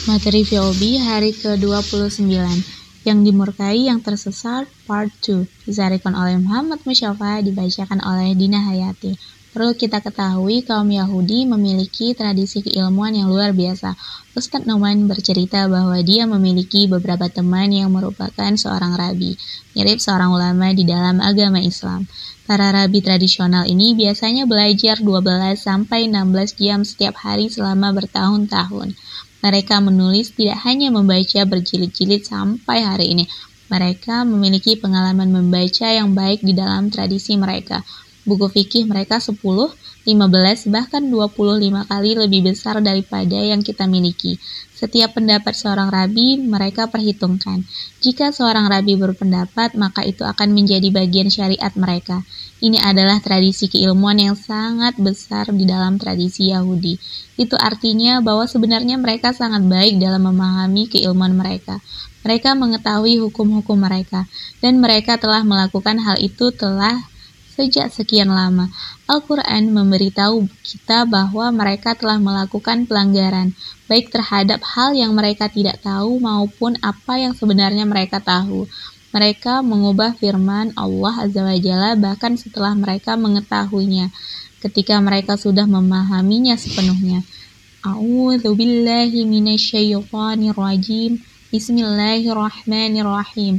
Materi VOB hari ke-29, yang dimurkai yang tersesat part 2, disarikan oleh Muhammad Musyafa, dibacakan oleh Dina Hayati. Perlu kita ketahui, kaum Yahudi memiliki tradisi keilmuan yang luar biasa. Ustadz Numan bercerita bahwa dia memiliki beberapa teman yang merupakan seorang rabi, mirip seorang ulama di dalam agama Islam. Para rabi tradisional ini biasanya belajar 12-16 jam setiap hari selama bertahun-tahun. Mereka menulis tidak hanya membaca berjilid-jilid sampai hari ini. Mereka memiliki pengalaman membaca yang baik di dalam tradisi mereka. Buku fikih mereka 10, 15, bahkan 25 kali lebih besar daripada yang kita miliki. Setiap pendapat seorang rabi mereka perhitungkan. Jika seorang rabi berpendapat, maka itu akan menjadi bagian syariat mereka. Ini adalah tradisi keilmuan yang sangat besar di dalam tradisi Yahudi. Itu artinya bahwa sebenarnya mereka sangat baik dalam memahami keilmuan mereka. Mereka mengetahui hukum-hukum mereka, dan mereka telah melakukan hal itu sejak sekian lama. Al-Quran memberitahu kita bahwa mereka telah melakukan pelanggaran, baik terhadap hal yang mereka tidak tahu maupun apa yang sebenarnya mereka tahu. Mereka mengubah firman Allah Azza wa Jalla bahkan setelah mereka mengetahuinya, ketika mereka sudah memahaminya sepenuhnya. A'udzu billahi minasyaitonir rajim. Bismillahirrahmanirrahim.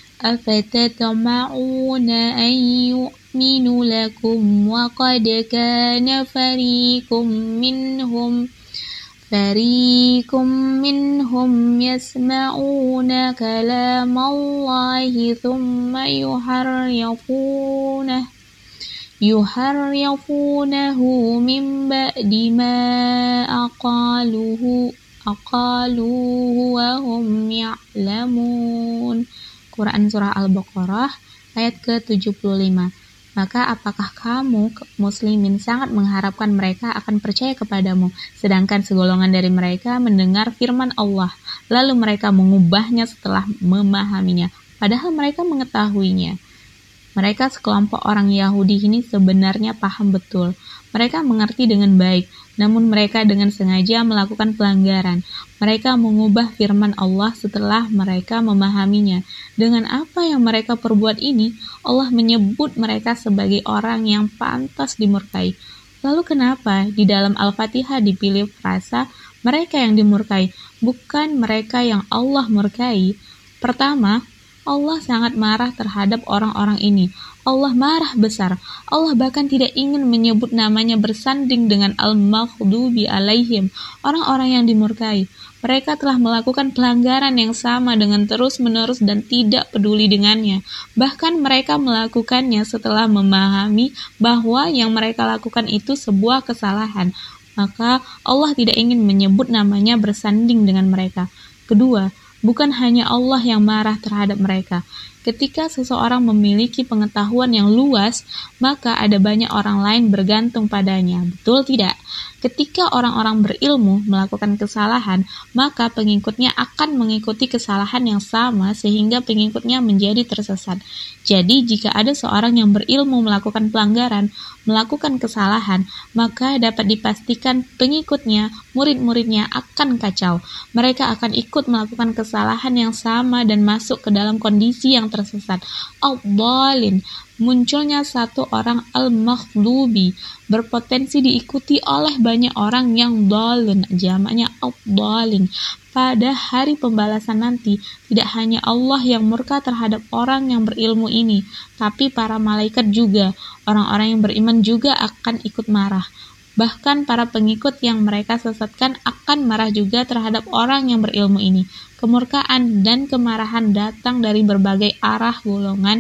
Afatatma'una an yu'minu lakum wa qad kana fariqum minhum yasma'una kalamallahi thumma yuharrifunahu min ba'di ma aqaluhu wa hum ya'lamun. Quran Surah Al-Baqarah ayat ke-75. Maka apakah kamu muslimin sangat mengharapkan mereka akan percaya kepadamu, sedangkan segolongan dari mereka mendengar firman Allah, lalu mereka mengubahnya setelah memahaminya, padahal mereka mengetahuinya. Mereka sekelompok orang Yahudi ini sebenarnya paham betul. Mereka mengerti dengan baik, namun mereka dengan sengaja melakukan pelanggaran. Mereka mengubah firman Allah setelah mereka memahaminya. Dengan apa yang mereka perbuat ini, Allah menyebut mereka sebagai orang yang pantas dimurkai. Lalu kenapa di dalam Al-Fatihah dipilih frasa mereka yang dimurkai, bukan mereka yang Allah murkai? Pertama, Allah sangat marah terhadap orang-orang ini. Allah marah besar. Allah bahkan tidak ingin menyebut namanya bersanding dengan al-maghdubi alaihim, orang-orang yang dimurkai. Mereka telah melakukan pelanggaran yang sama dengan terus-menerus dan tidak peduli dengannya. Bahkan mereka melakukannya setelah memahami bahwa yang mereka lakukan itu sebuah kesalahan. Maka Allah tidak ingin menyebut namanya bersanding dengan mereka. Kedua, bukan hanya Allah yang marah terhadap mereka. Ketika seseorang memiliki pengetahuan yang luas, maka ada banyak orang lain bergantung padanya. Betul tidak? Ketika orang-orang berilmu melakukan kesalahan, maka pengikutnya akan mengikuti kesalahan yang sama sehingga pengikutnya menjadi tersesat. Jadi, jika ada seorang yang berilmu melakukan pelanggaran, melakukan kesalahan, maka dapat dipastikan pengikutnya, murid-muridnya akan kacau. Mereka akan ikut melakukan kesalahan yang sama dan masuk ke dalam kondisi yang tersesat. Al-Dhalin, munculnya satu orang al-maghdubi berpotensi diikuti oleh banyak orang yang dhalin, jamaknya al-dhalin. Pada hari pembalasan nanti, tidak hanya Allah yang murka terhadap orang yang berilmu ini, tapi para malaikat juga. Orang-orang yang beriman juga akan ikut marah. Bahkan para pengikut yang mereka sesatkan akan marah juga terhadap orang yang berilmu ini. Kemurkaan dan kemarahan datang dari berbagai arah golongan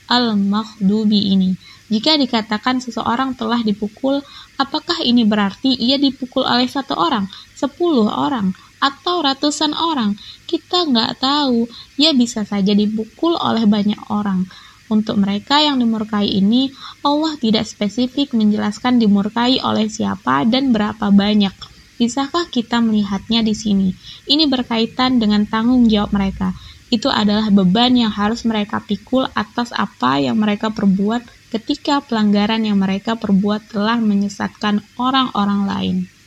al-maghdubi ini. Jika dikatakan seseorang telah dipukul, apakah ini berarti ia dipukul oleh 1 orang, 10 orang, atau ratusan orang? Kita nggak tahu. Ia bisa saja dipukul oleh banyak orang. Untuk mereka yang dimurkai ini, Allah tidak spesifik menjelaskan dimurkai oleh siapa dan berapa banyak. Bisakah kita melihatnya di sini? Ini berkaitan dengan tanggung jawab mereka. Itu adalah beban yang harus mereka pikul atas apa yang mereka perbuat ketika pelanggaran yang mereka perbuat telah menyesatkan orang-orang lain.